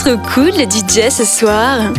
trop cool le DJ ce soir.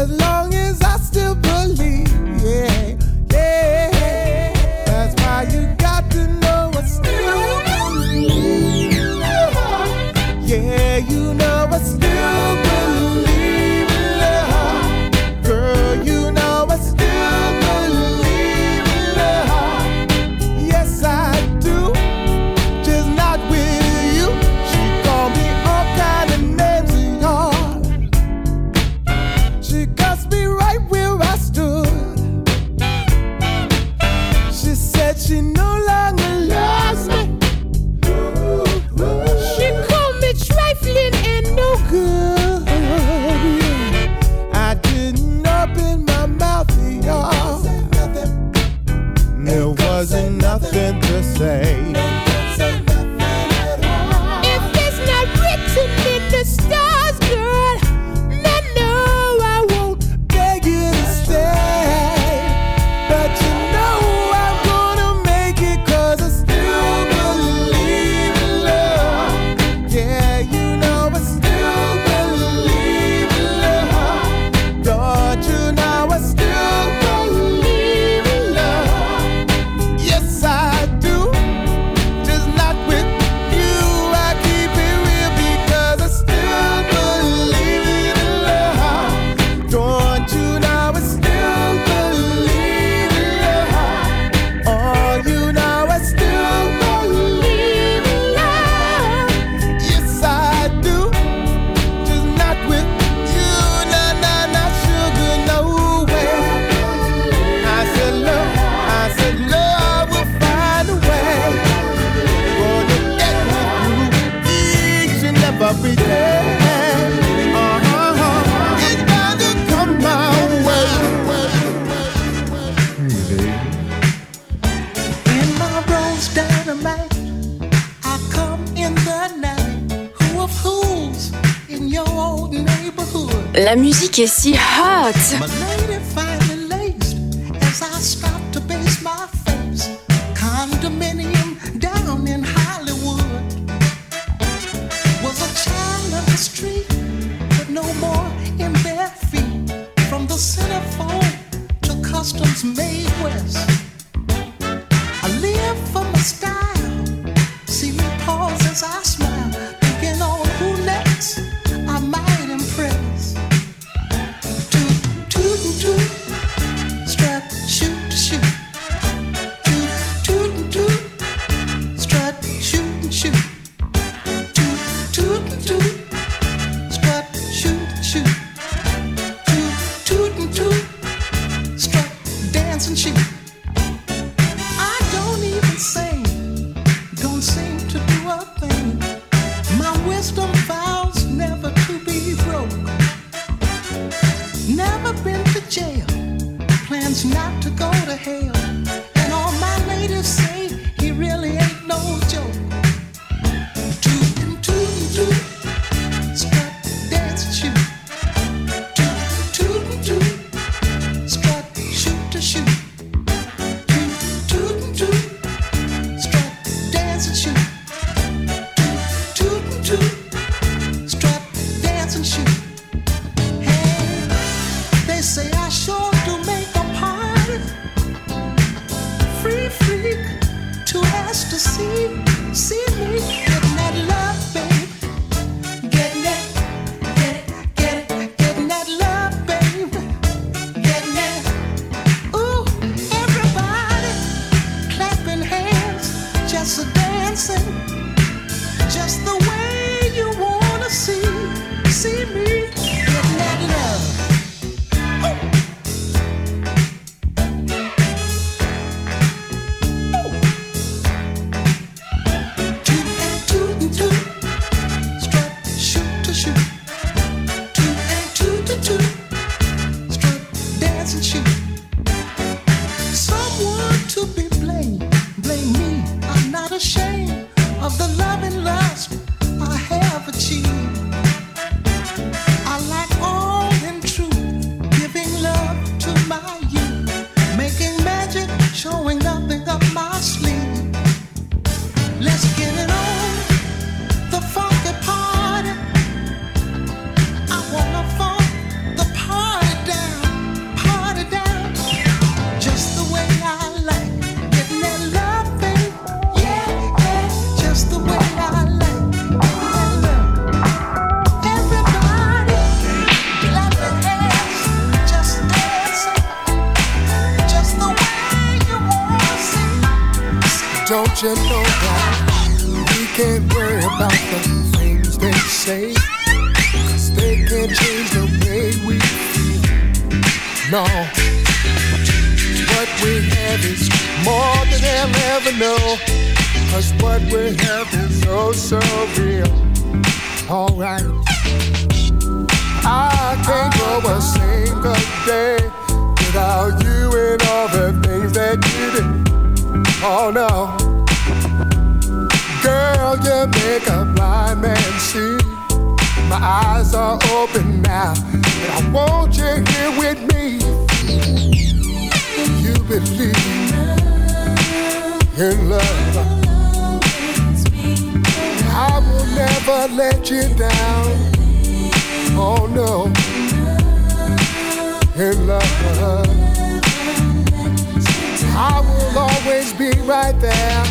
as long as I still believe. Yeah, yeah. That's why you got to know I still believe. Yeah, you know I still believe in love. Girl, you know I still believe in love. Yes, I do, just not with you. She called me all kind of names, y'all. She cussed me right where I stood. She said she no longer loves me. She called me trifling and no good. I didn't open my mouth, y'all. There wasn't nothing to say. If it's not written in the stars, girl, then no, I won't beg you to stay. But you know I'm gonna make it, 'cause I still believe in love. Yeah, you know I still believe in love. Don't you know I still believe in love? Yes, I do, just not with you. I keep it real because I still believe in love. Don't you know I still believe in love? Oh, you know I still believe in love. Yes, I do, just not with you. Nah, nah, nah, sugar, no way. I said love will find a way. Gonna get me through each and every day. It's gonna come my way. In my rose dynamite, I come in the night. Who of who's in your old neighborhood? La musique est si hot. My lady finally laced as I stopped to base my face. Condominium down in Hollywood. Was a child of the street, but no more in bare feet. From the centerfold to customs made west. I live for my style. See me pause as I smile, thinking on who next I might impress. Toot, toot, toot, strut, shoot, shoot. Toot, toot, toot, strut, shoot, shoot. Toot, toot, toot, strut, shoot, shoot. Toot, toot, toot, strut, dance and shoot. I don't even sing, don't seem to do a thing. My wisdom vows never to be broke. Never been to jail, plans not to go to hell. And all my ladies say he really ain't no joke. Toot and toot and toot, strut, dance and shoot. Toot, toot and toot, strut, shoot to shoot. Toot, toot and toot, strut, dance and shoot. Toot, toot and toot, strut, dance and shoot. Hey, they say I sure do make a party. Free freak, too ask to see me getting that love, babe. Getting it, getting that love, babe. Getting it. Ooh, everybody clapping hands, just a dancing, just the way you wanna see me. Don't you know that we can't worry about the things they say, 'cause they can't change the way we feel. No, what we have is more than they'll ever know, 'cause what we have is oh so real. Alright, I can't go a single day without you and all the things that you do. Oh no, girl, you make a blind man see. My eyes are open now, and I want you here with me. You believe in love, I will never let you down. Oh no, in love, I will always be right there.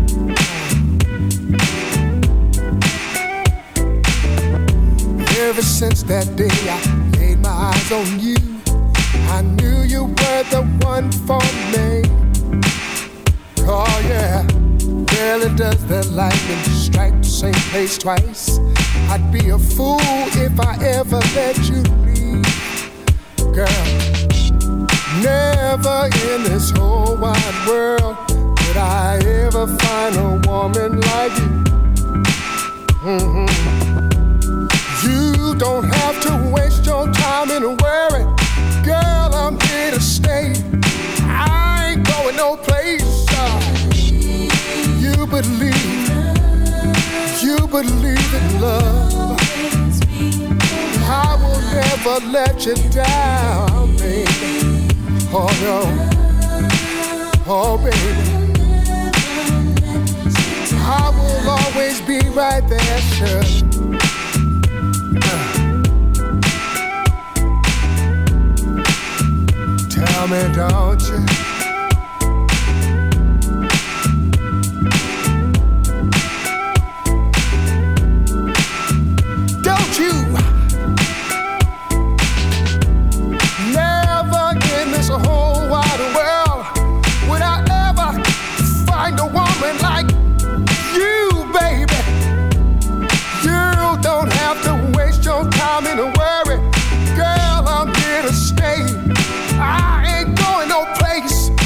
Ever since that day I laid my eyes on you, I knew you were the one for me. Oh yeah, rarely does the lightning strike the same place twice. I'd be a fool if I ever let you leave. Girl, never in this whole wide world would I ever find a woman like you. You don't have to waste your time in a worry. Girl, I'm here to stay. I ain't going no place. You believe in love. I will never let you down, baby. Oh no, oh baby. I will always be right there, sure. Tell me, don't you? Don't you? Never in this whole wide world would I ever find a woman like you, baby. You don't have to waste your time in a worry. Girl, I'm here to stay. I ain't going no place.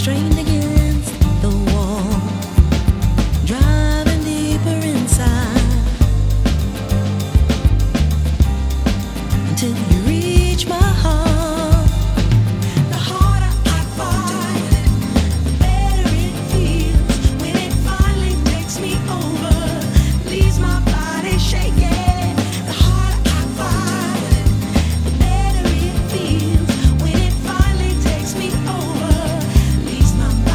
strained against the wall, driving deeper inside until you reach my heart. The harder I fight, the better it feels when it finally takes me over, leaves my body shaking. The harder I fight, the better it feels when it finally takes me over, leaves my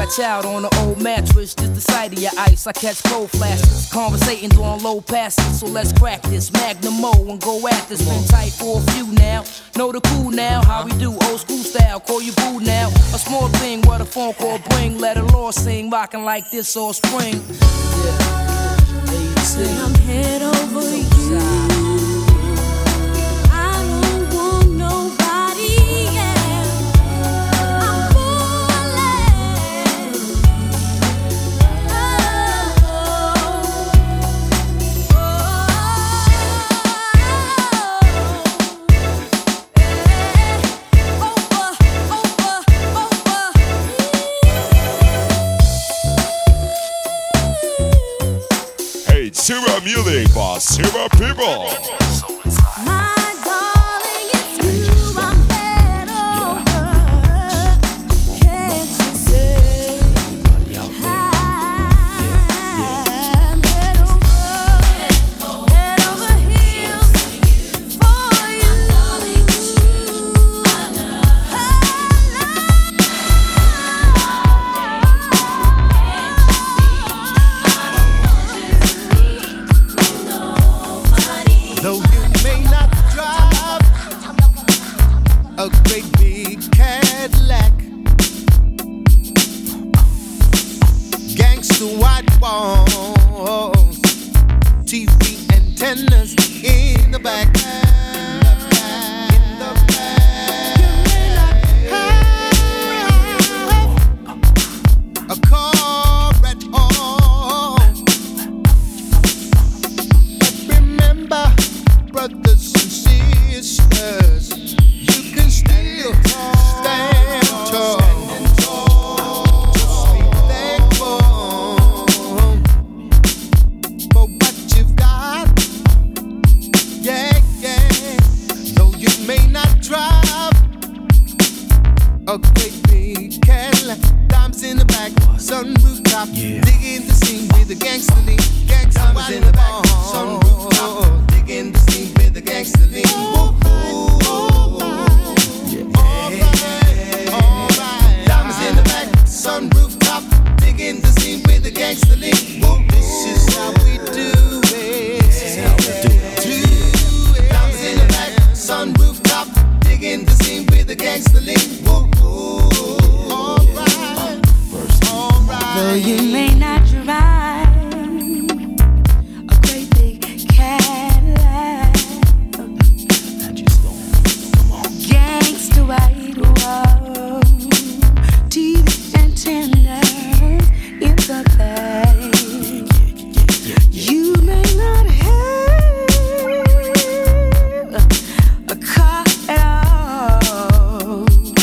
scratch out on an old mattress, just the sight of your ice. I catch cold flashes, conversating on low passes. So let's crack this Magnum O and go at this. Been tight for a few now, know the cool now. How we do, old school style, call you boo now. A small thing, what a phone call bring. Let a law sing, rocking like this all spring. Yeah. I'm head over you. I don't want nobody else. I'm falling. Hey, Silver Music for Silver People. My darling, it's you I'm head over. Can't you say I'm head over heels for you. Though you may not drive a great big Cadillac, gangster white walls, TV antennas in the back. In the back. You may not have a car at all. Remember, brothers and sisters, you can still stand tall. Just be thankful for what you've got. Yeah, yeah. Though you may not drive a great big Cadillac, diamonds in the back, sunroof top, digging the scene with a gangster lean. Diamonds in the back, sunroof top, digging the scene with a gangster lean. Alright. Diamonds in the back, sunroof top, digging the scene with a gangster lean. This is how we do it. This is how we do it. Diamonds in the back, sunroof top, digging the scene with a gangster lean. Alright. Though you may not drive a great big Cadillac, gangsta white wall, TV antenna in the back. You may not have a car at all,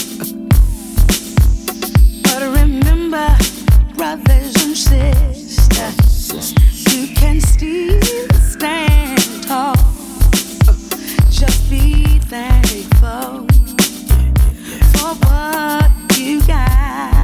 but remember, brothers and sisters, you can still stand tall. Just be thankful for what you got.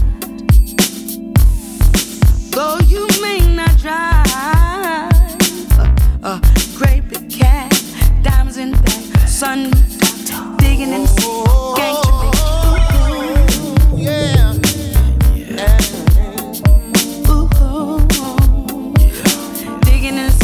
Though you may not drive a great big cat, diamonds in the back, sun digging in the sea, gangster big. Yeah. Digging in the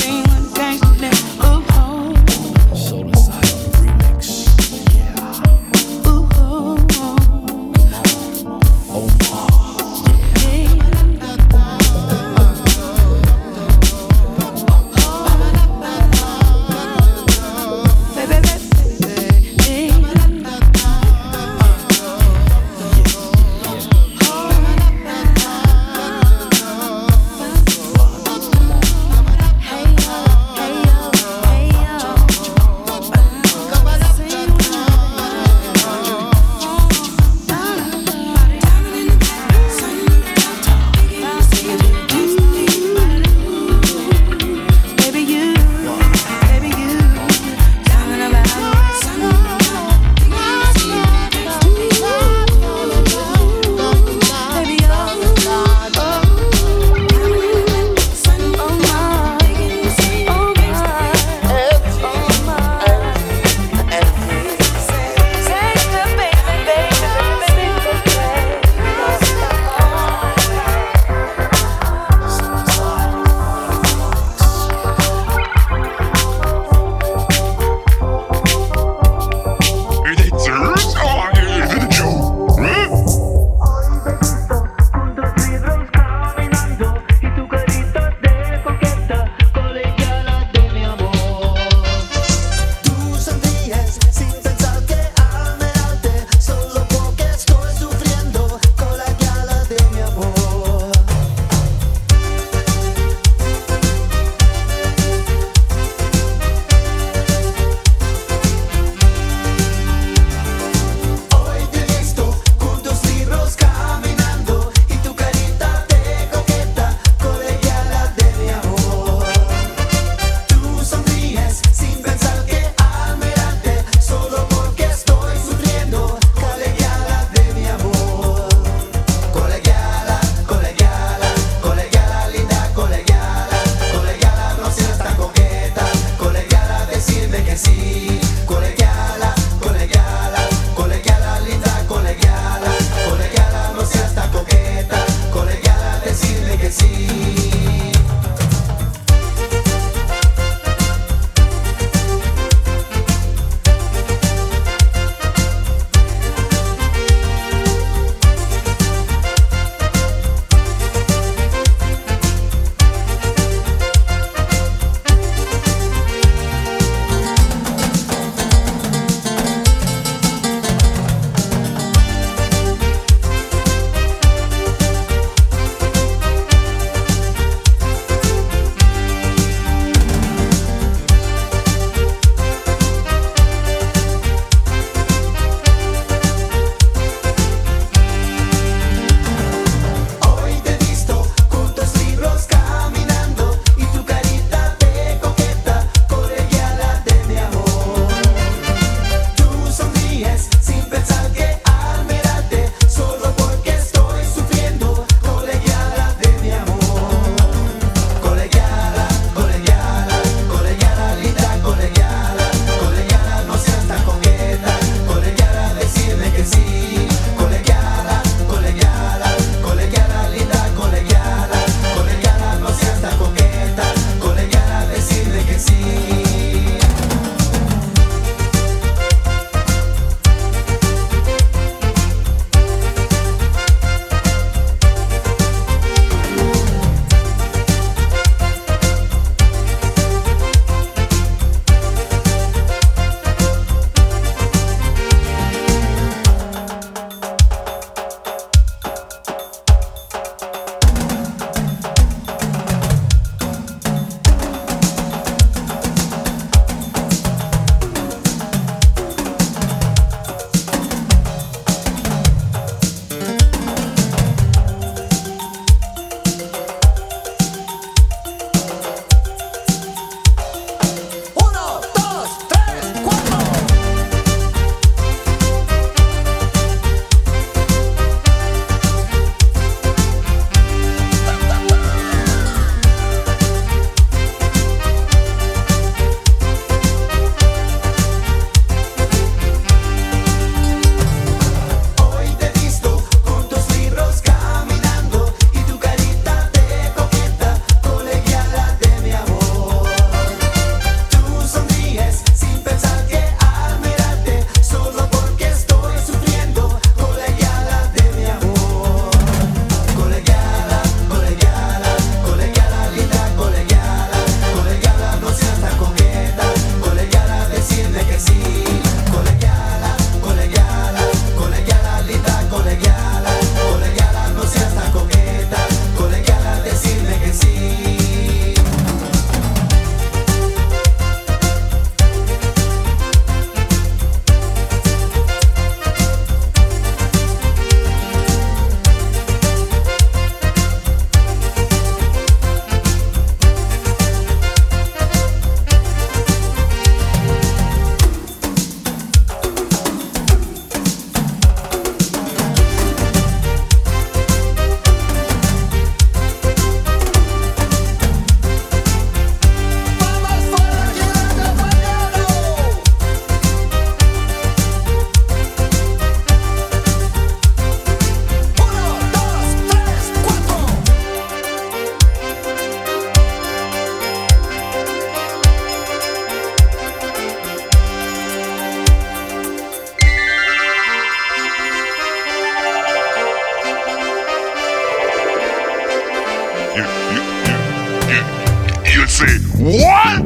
say, what?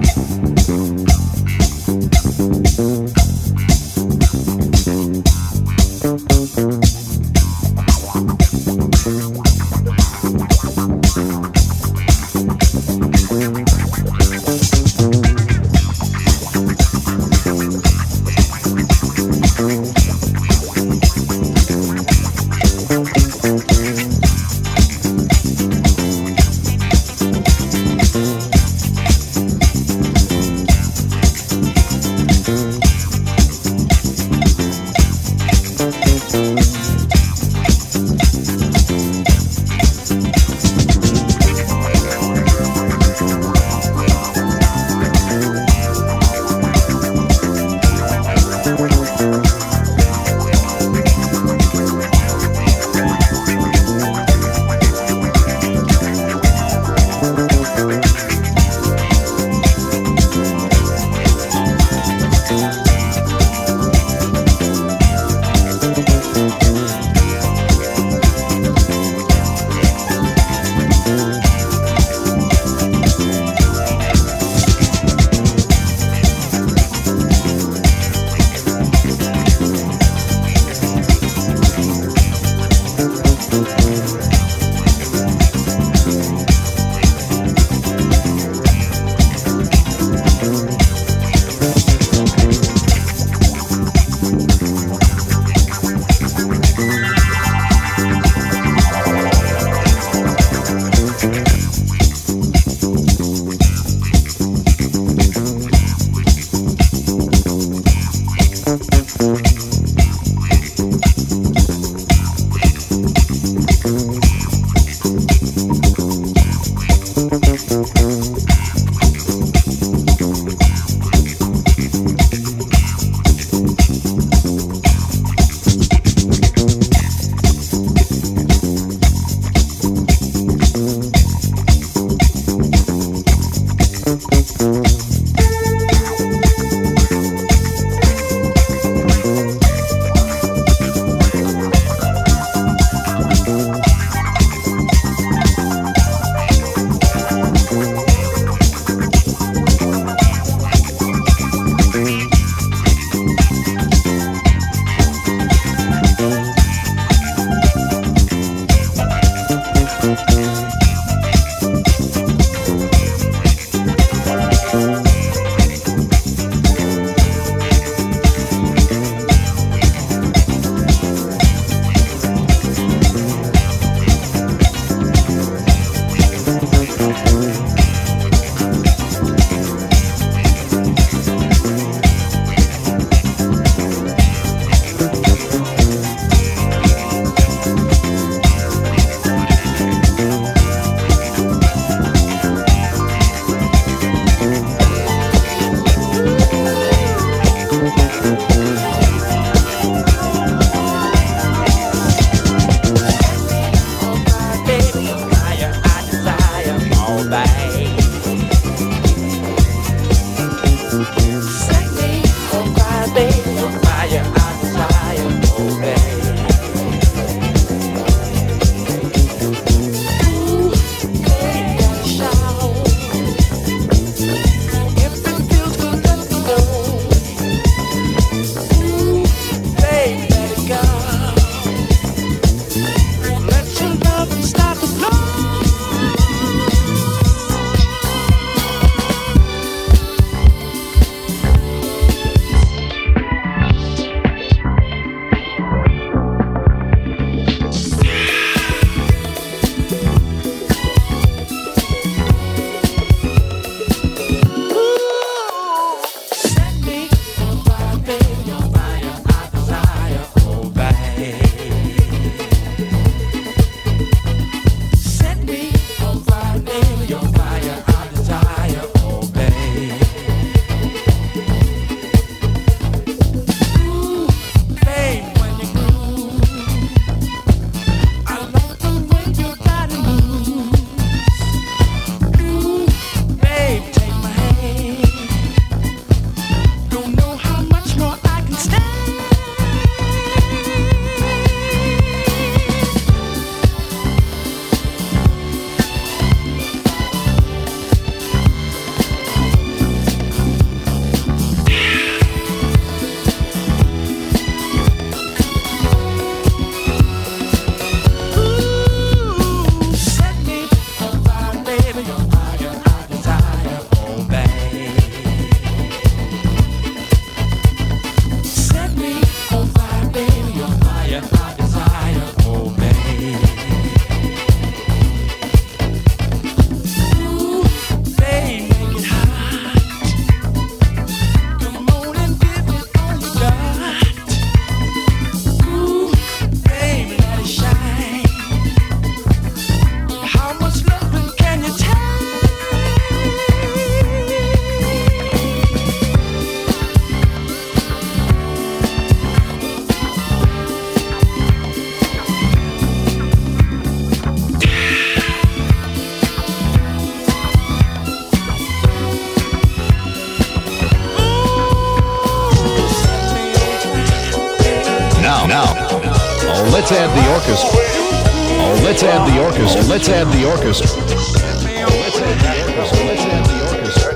let's add the orchestra. Oh, let's add the orchestra. Let's add the orchestra. Let's add the orchestra. Let's add the orchestra.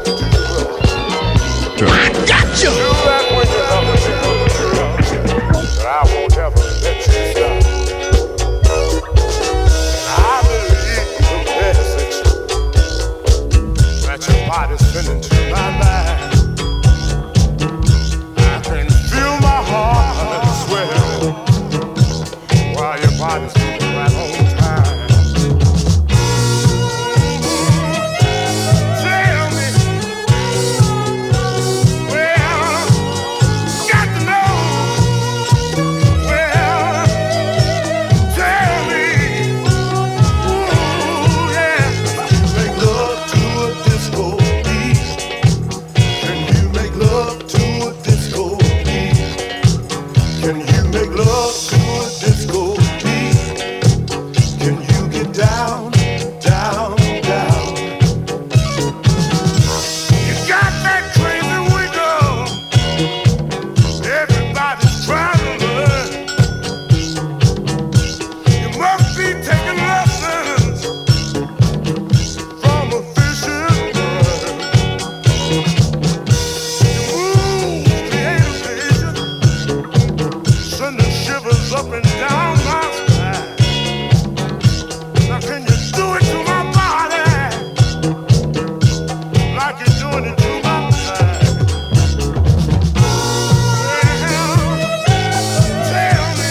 Gotcha! I won't ever let you stop. I believe the message that your body's sending to my mind. I can feel my heart swelling while your body's moving right on time. Tell me, well, got to know. Well, tell me, ooh, yeah. Make love to a disco beat. Can you make love to a disco beat? Can you make love to a disco beat? Can you get down, down, down? You got that crazy wiggle. Everybody's trying to learn. You must be taking lessons from a vicious bird. Your moves create a vision, sending shivers up and down my spine. Now can you do it to my body like you're doing it to my mind? Tell me,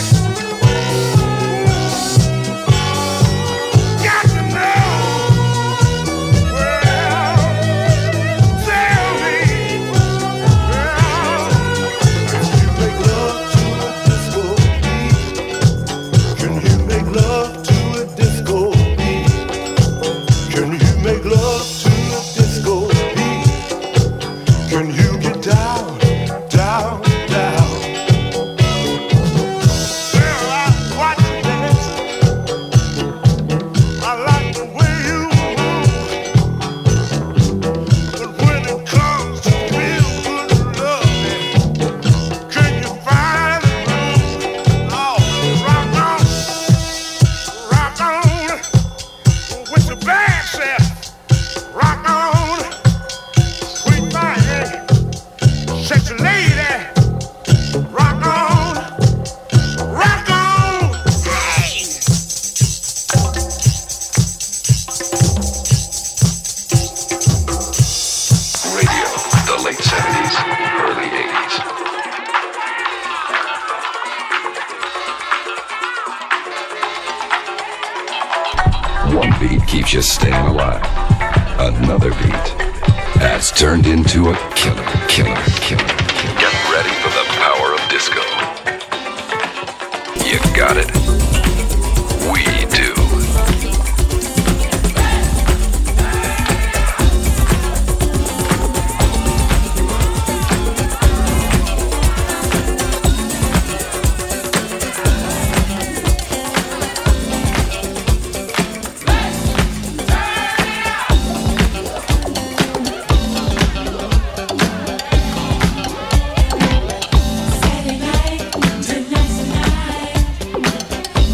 got to know. Well, tell me, can you make love to a disco beat? Can you make love to a disco beat? Can you get down, down, down? Well, I watch you dance. I like the way you move. But when it comes to real good loving, can you find the room? Oh, rock on with the band set. Rock on, sweet thing, sexy lady. Rock on, hey! Radio, the late 70s, early 80s. One beat keeps you staying alive. Another beat has turned into a killer. Get ready for the power of disco. You got it. We do. Saturday night, tonight's the night.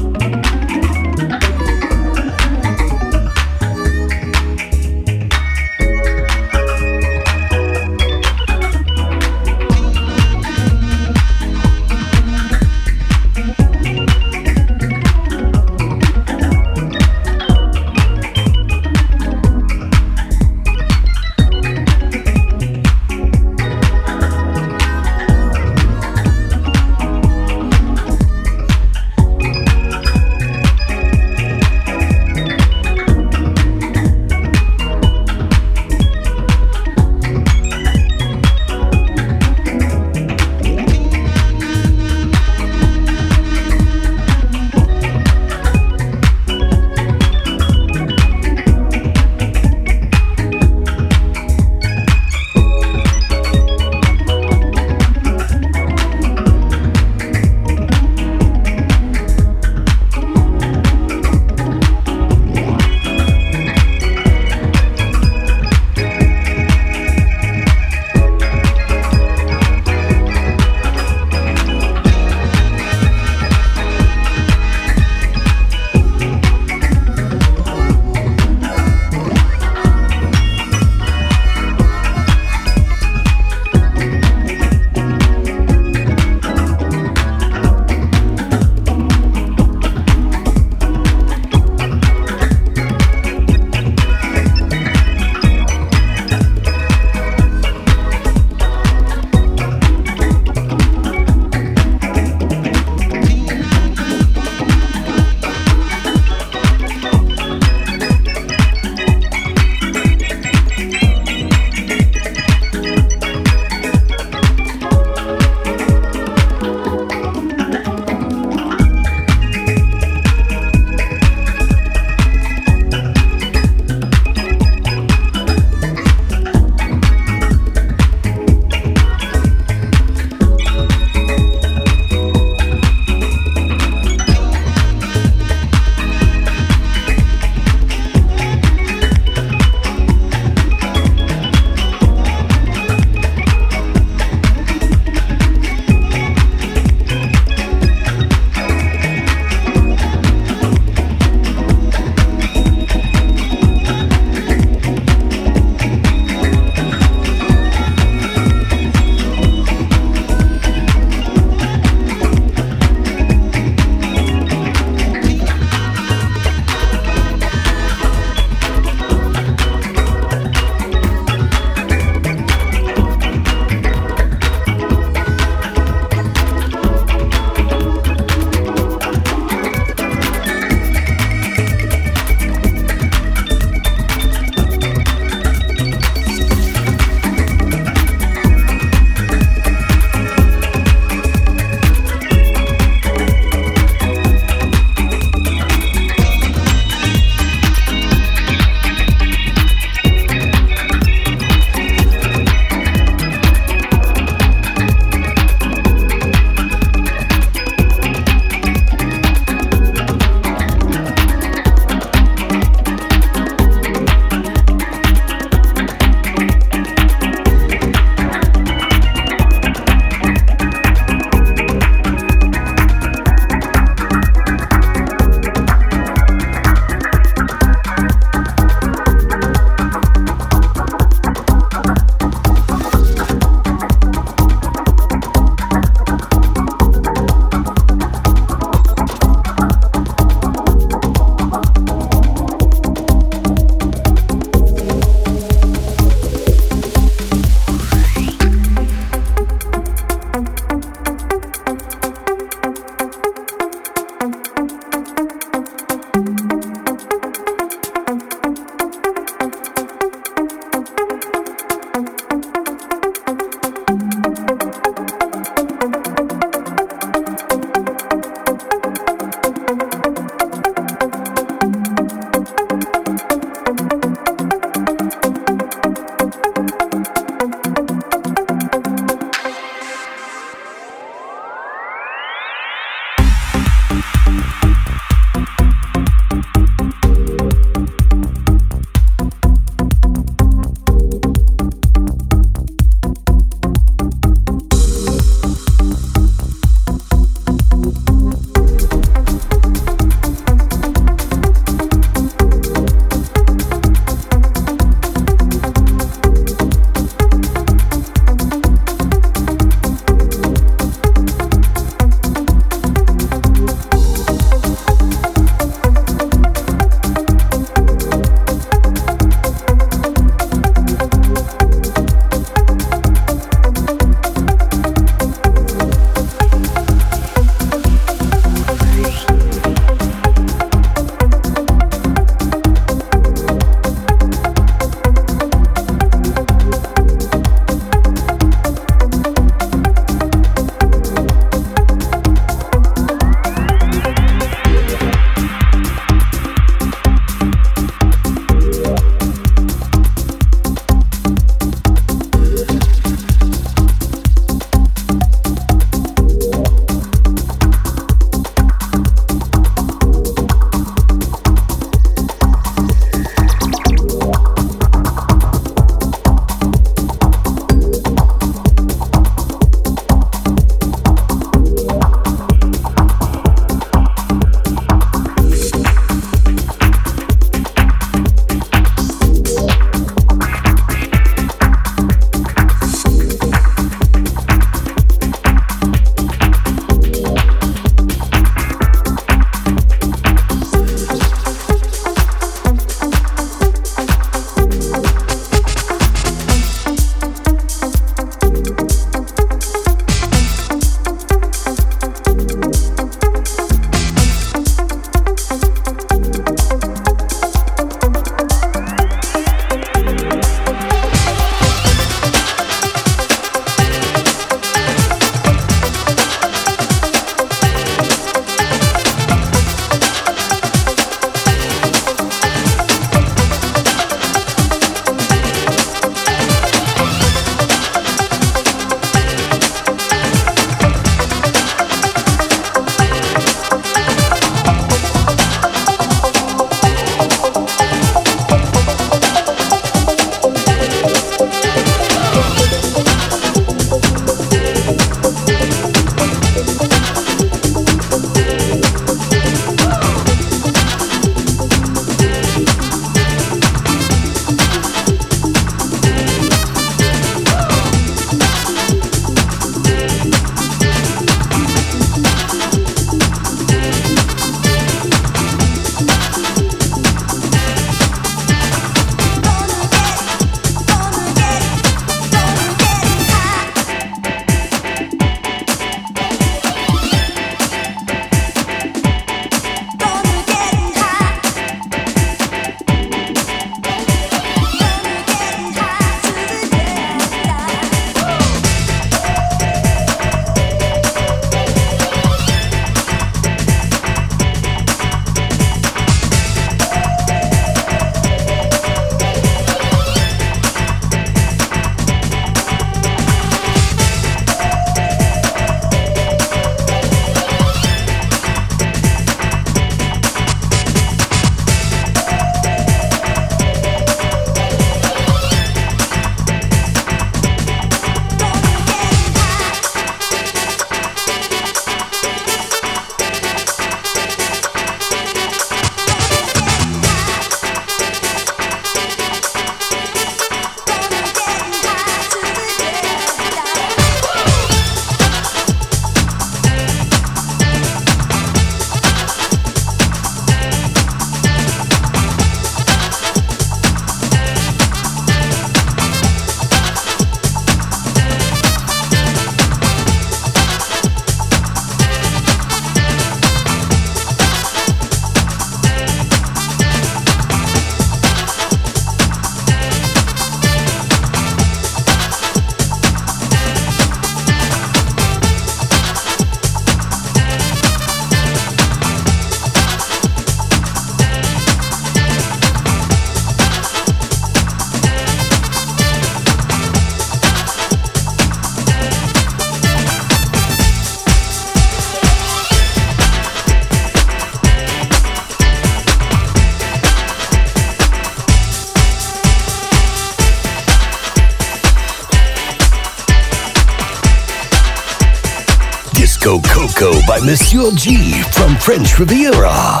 Disco Coco by Monsieur G from French Riviera.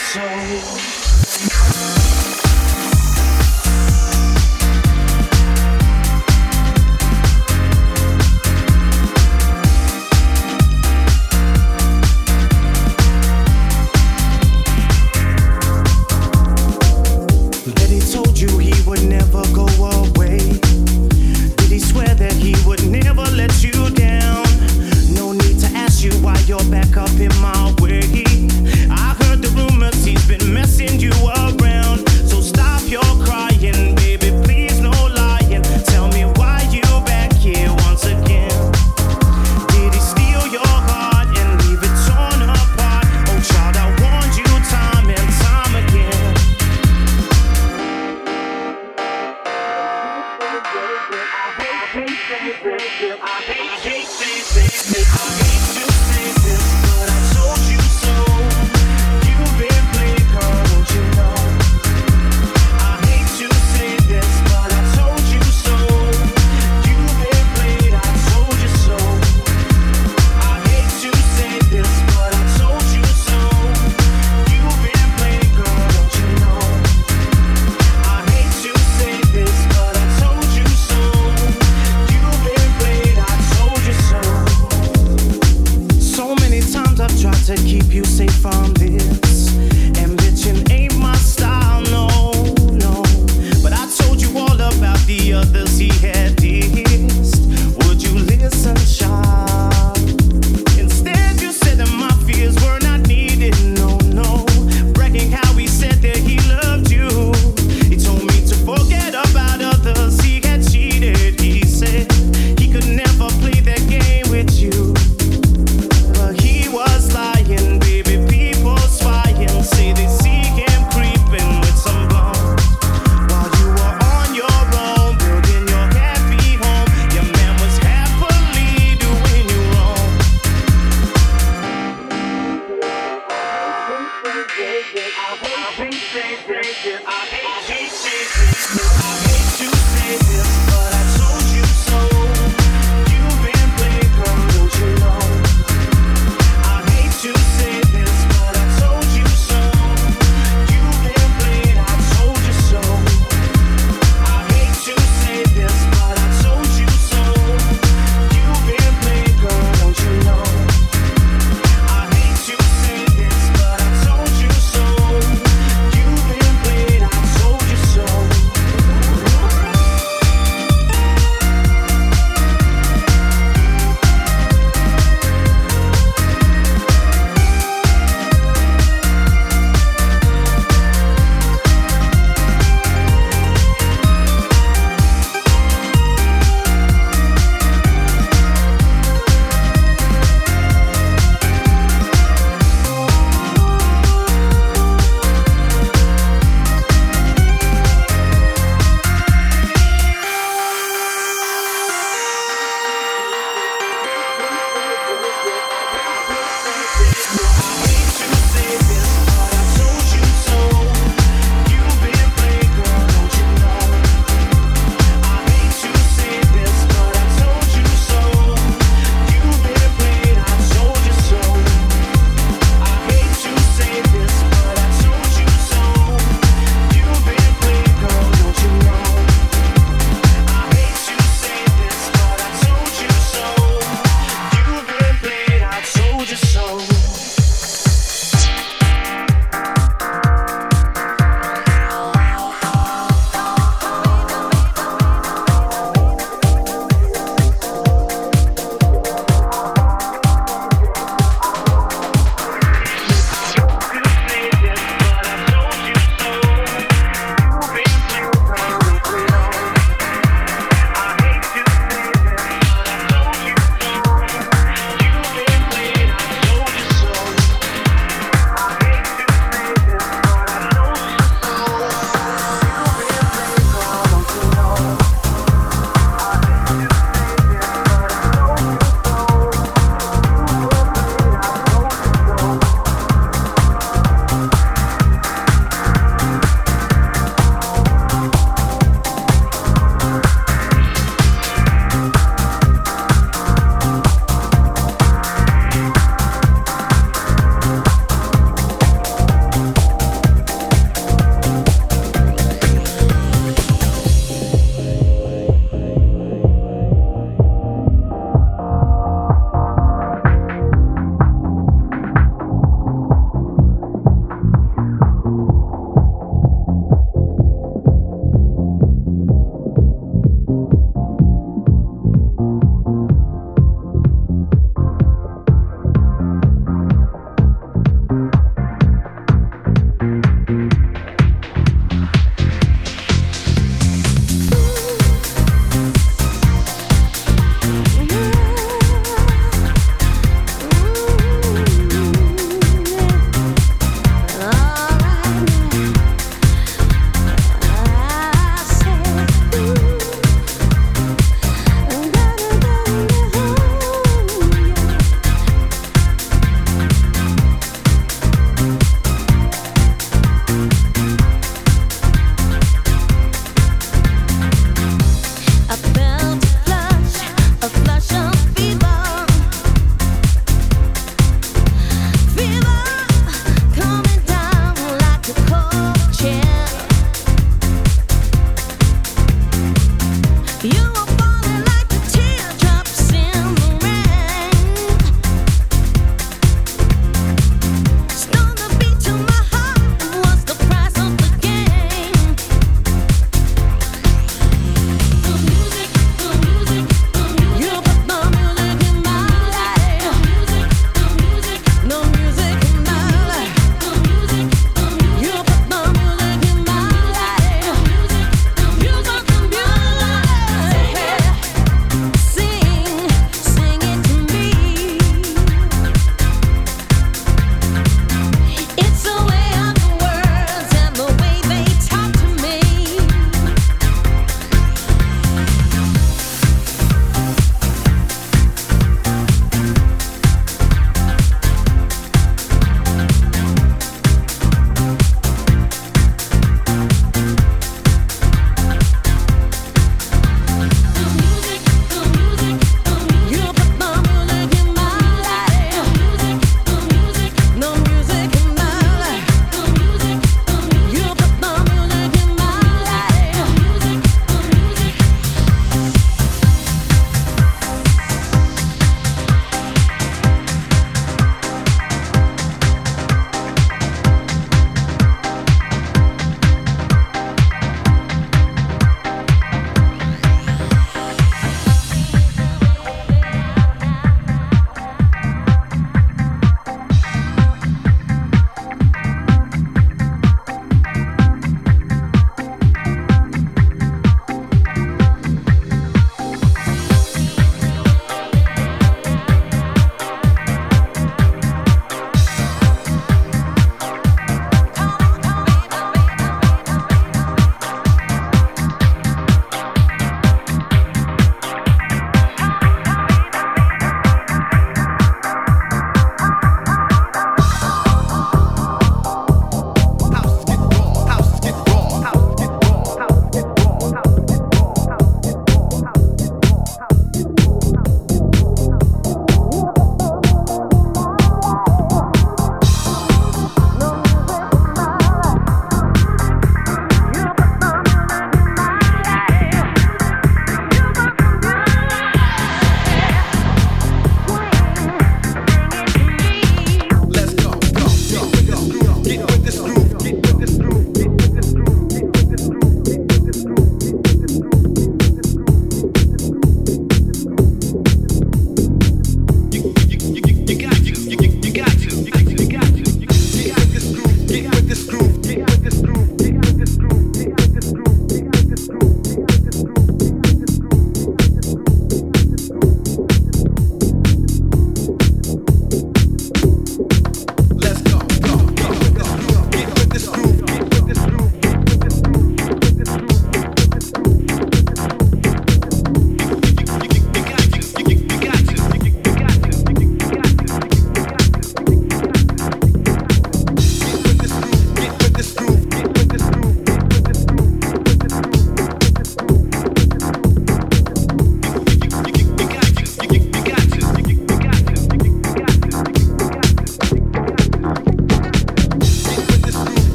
Told you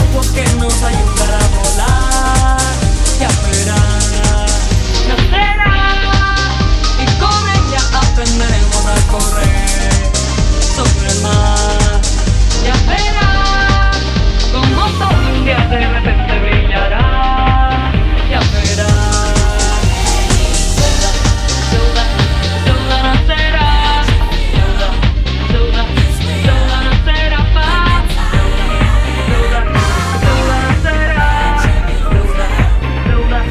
agua que nos ayudará a volar. Ya verás, nacerá y con ella aprenderemos a correr sobre el mar. Ya verás como todo un día de repente brillará. Ya verás, Yoda nacerá. Yoda nacerá paz. Yoda nacerá. Yoda.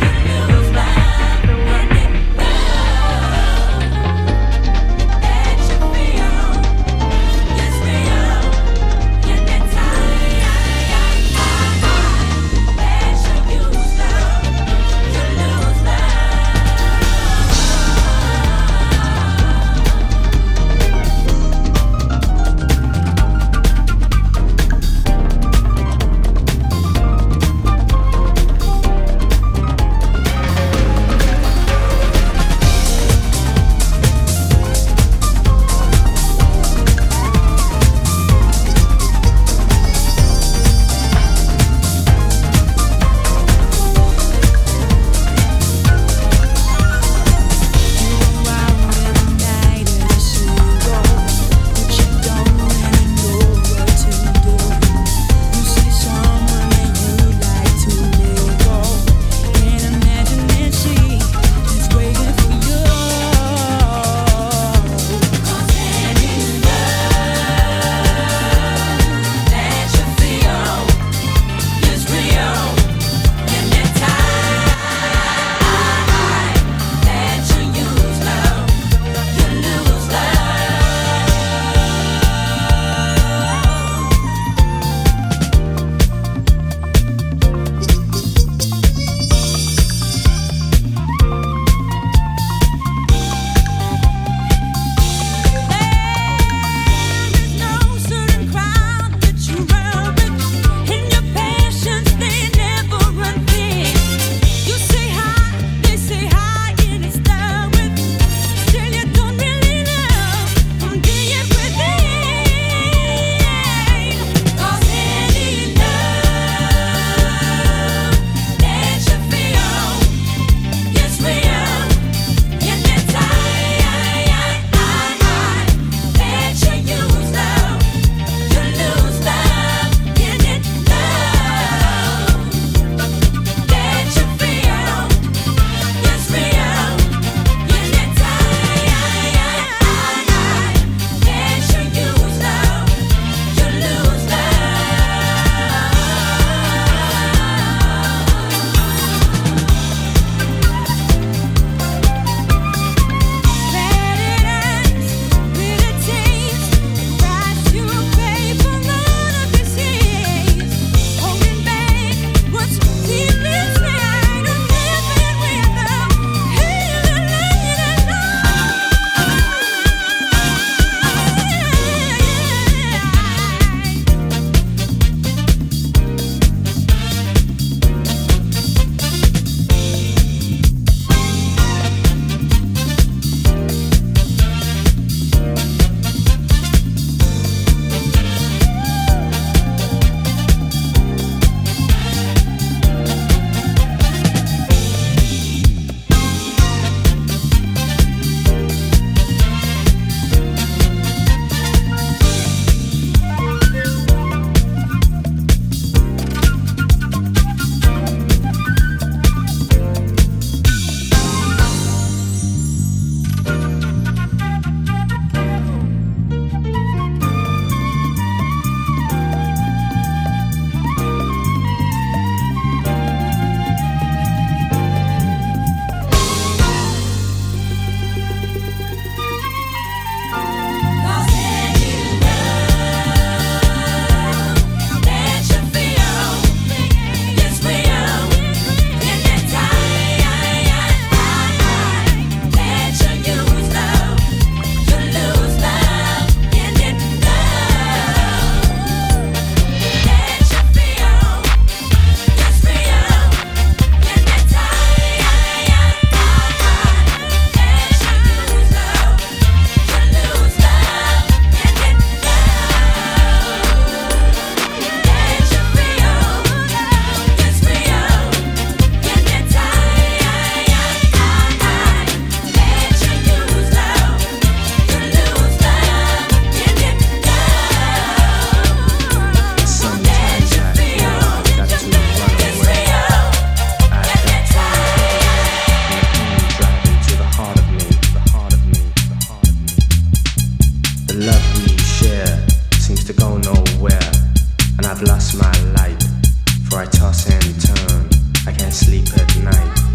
for I toss and turn. I can't sleep at night.